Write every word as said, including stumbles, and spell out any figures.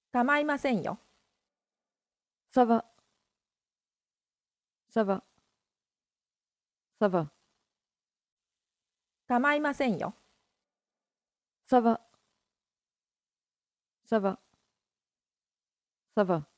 構いませんよ。 Ça va. Ça va. Ça va. 構いませんよ。 Ça va. Ça va. Ça va.